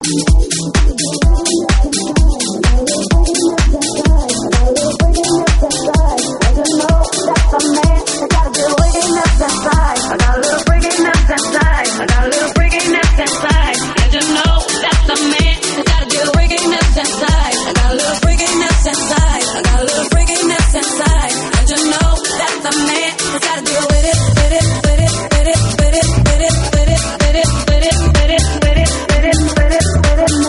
With it.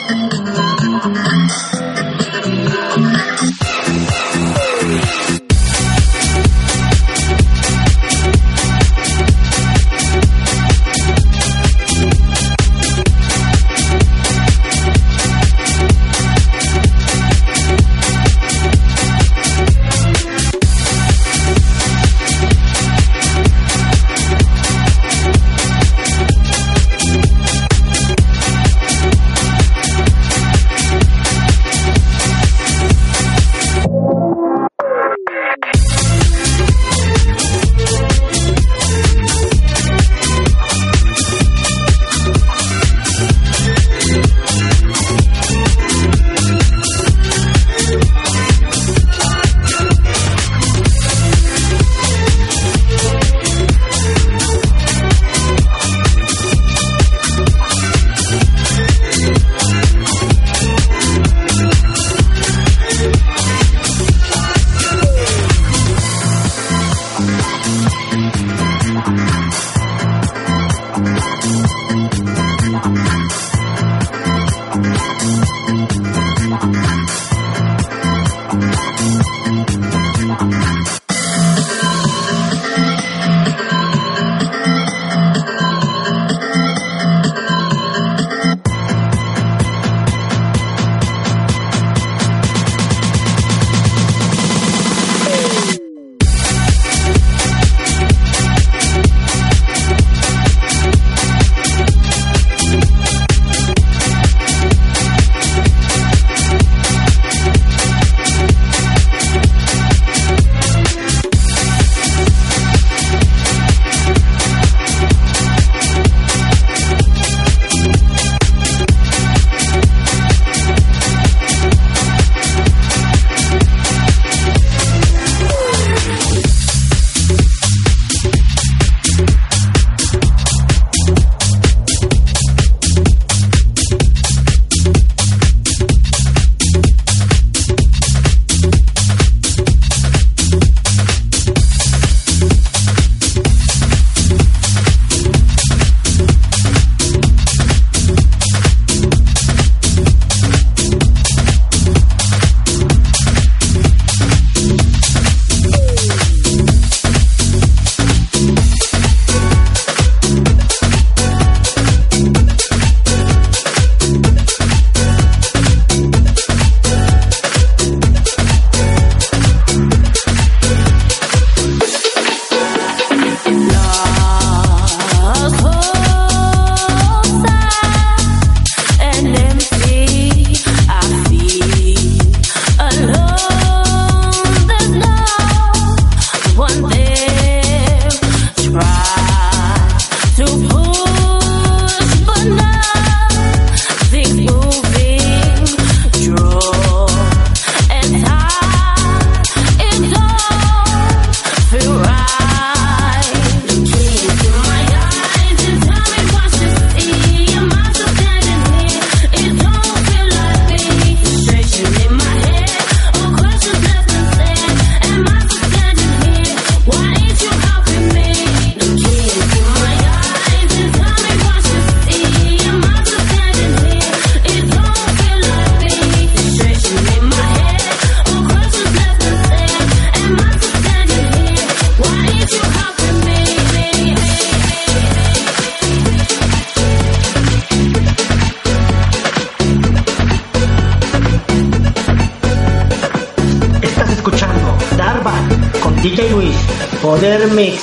DJ Luis, Poder Mix.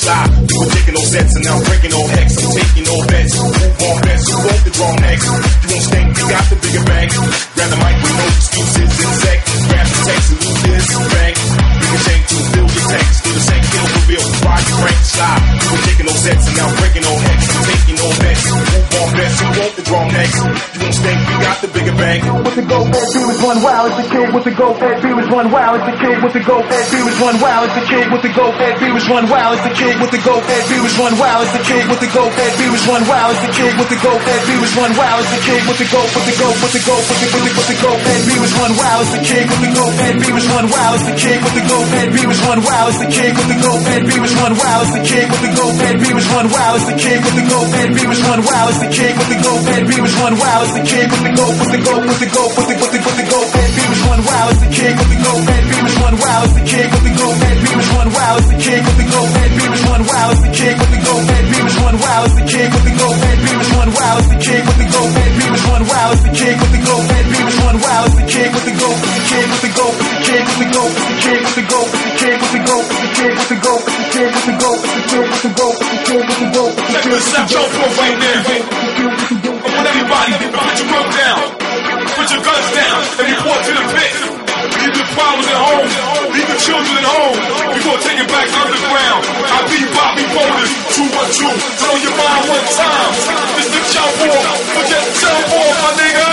slide. We were taking no sets and now breaking no hex. I'm taking no bets. Move on bets. Who won't the draw next? You won't stink. You got the bigger bag. Grab the mic with no excuses. Insect. Grab the text and lose this bag. Ricochet to fill your tank. Still the same kill reveal. Ride the crank slide. We were taking no sets and now breaking no hex. I'm taking no bets. Move on bets. Who won't the draw next? You won't stink. You got the bigger bag. With the go fed B was one wow, it's the kid with the go fed B was one wow, it's the kid with the go fed B was one wow, it's the kid with the go fed B was one wow, it's the kid with the go fed B was one wow, it's the kid with the go fed B was one wow, it's the kid with the go fed B was one wow, it's the kid with the go with the go with the go with the go fed B was one wow, it's the kid with the go fed B was one wow, it's the kid with the go fed B was one wow, it's the kid with the go fed B was one wow, it's the kid with the go fed B was one wow, it's the kid with the go fed B was one wow, it's the kid with the go fed B was one wow, it's the kid with the go with the go with the go with the go fed B was one wow, it's the kid with the go fed B was one wow, it's the kid with the go fed B was one wow, it's the kid with the go fed B was one wow, it's the kid with the go fed B was one wow, it's the kid with the go fed B was one wow, it's the kid with the go fed B was one wow, it's the kid with the go fed B was one wow, it's the kid with the go with the kid with the go with the kid with the go with the kid with the go with the kid with the go with the kid with the go with the kid with the go with the kid with the go with the kid with the go. Check the snapshot for right there. I want everybody to put your rope down, put your guns down, and report to the pit. Leave the problems at home, leave the children at home. We gonna take it back underground. I be Bobby Boulders, 212. Turn on your mind one time. This the chow war, forget the chow war, my nigga.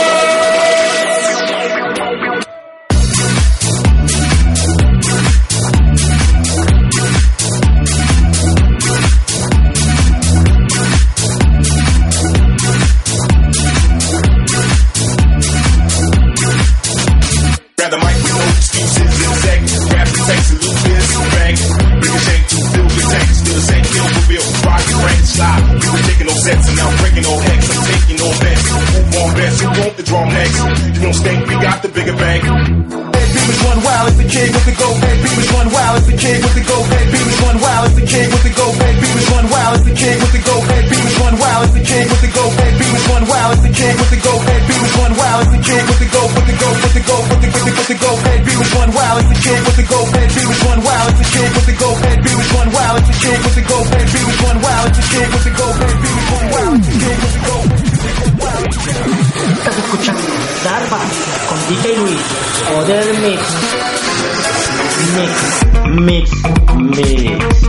Sets and now breaking no hex. I'm taking no bets. Move on bets. Who won't the draw next? You won't stink. We got the bigger bag. B was one wow, it's the kid with the go fed B was one wow, it's the kid with the go fed B was one wow, it's the kid with the go fed B was one wow, it's the kid with the go fed B was one wow, it's the kid with the go fed B was one wow, it's the kid with the go fed B was one wow, it's the kid with the go with the go with the go with the go fed B was one wow, it's the kid with the go fed B was one wow, it's the kid with the go fed B was one wow, it's the kid with the go fed B was one wow, it's the kid with the go fed B was one wow, it's the kid with the go fed B was one wow. Estás escuchando Darba con DJ Luis. Poder Mix.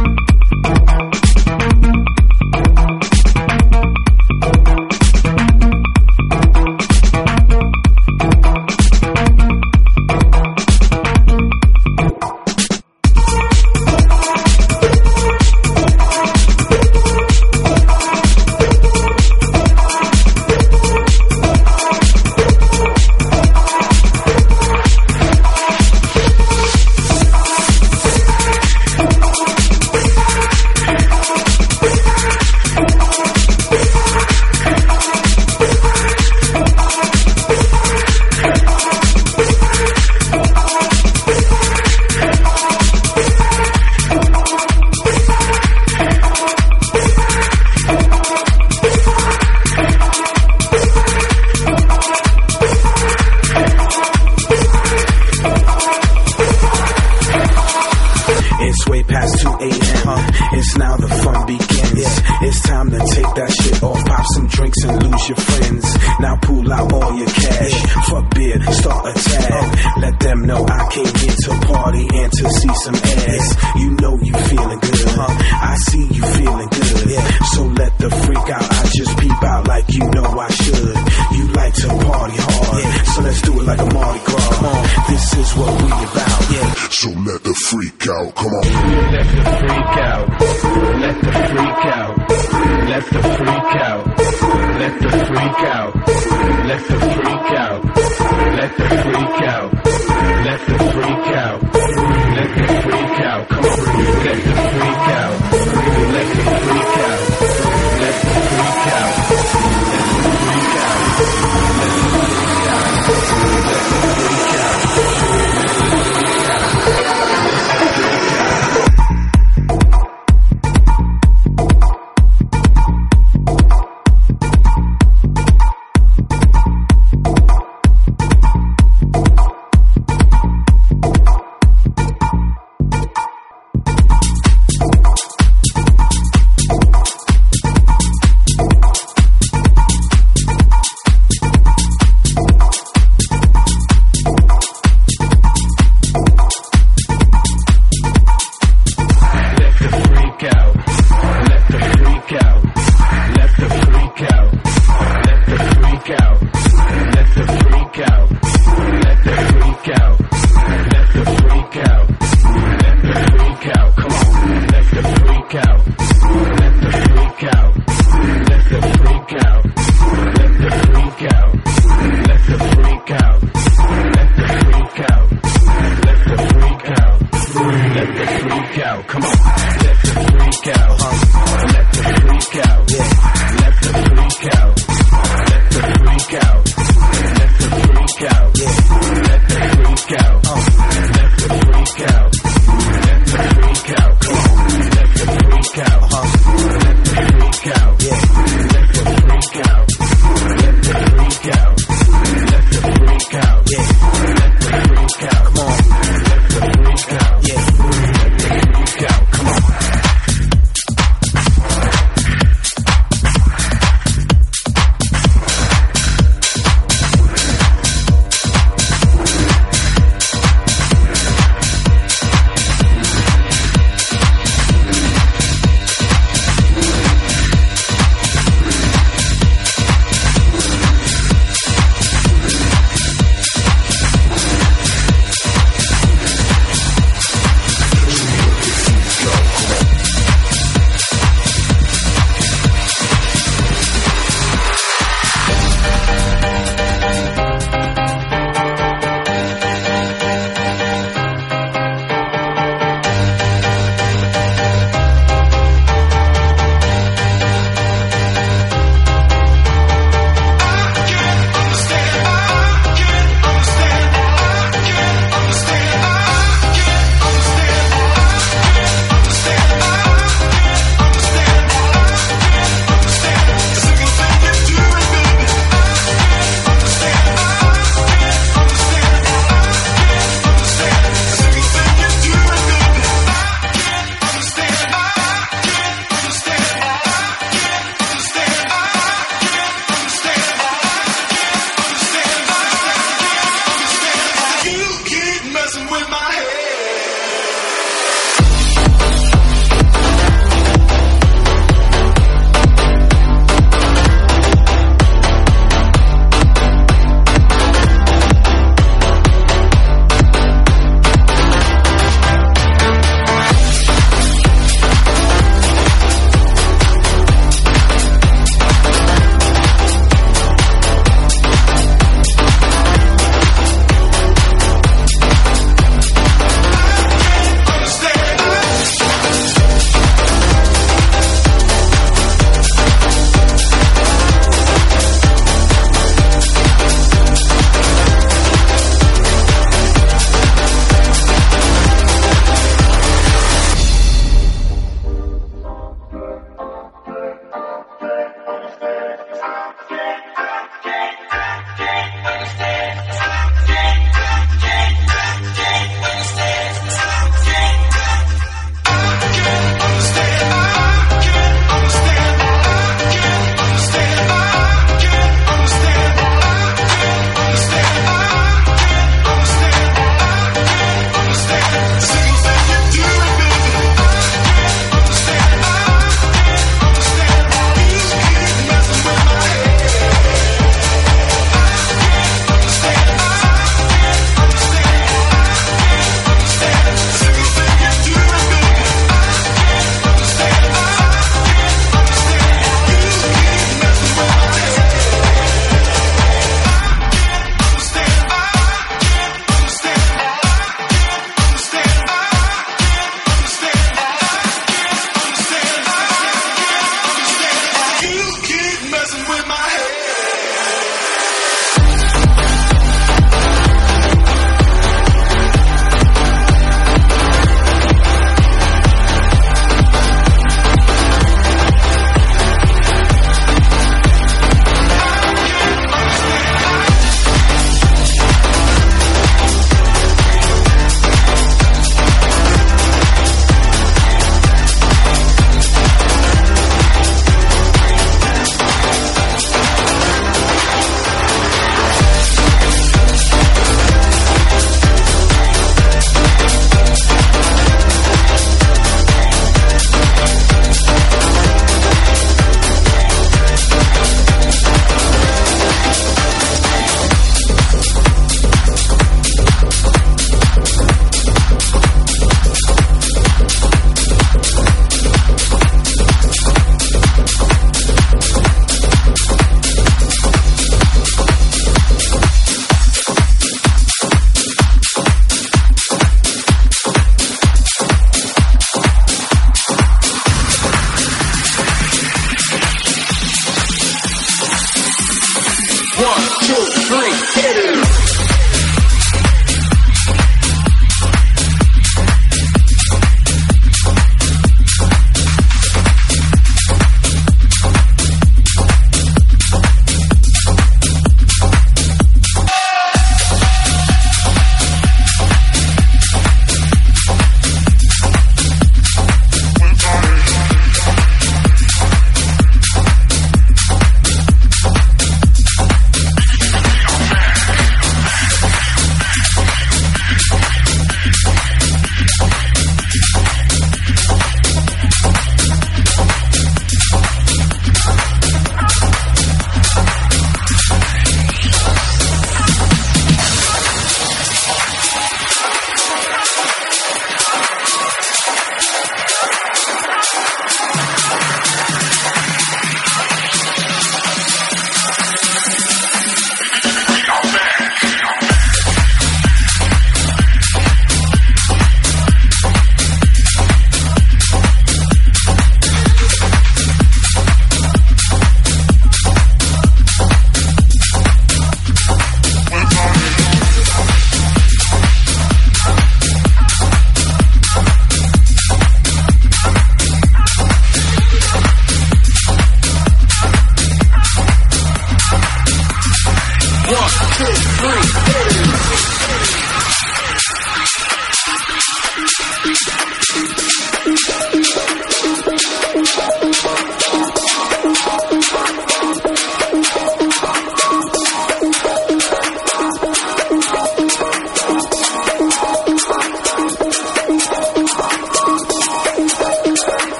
1, 2, 3,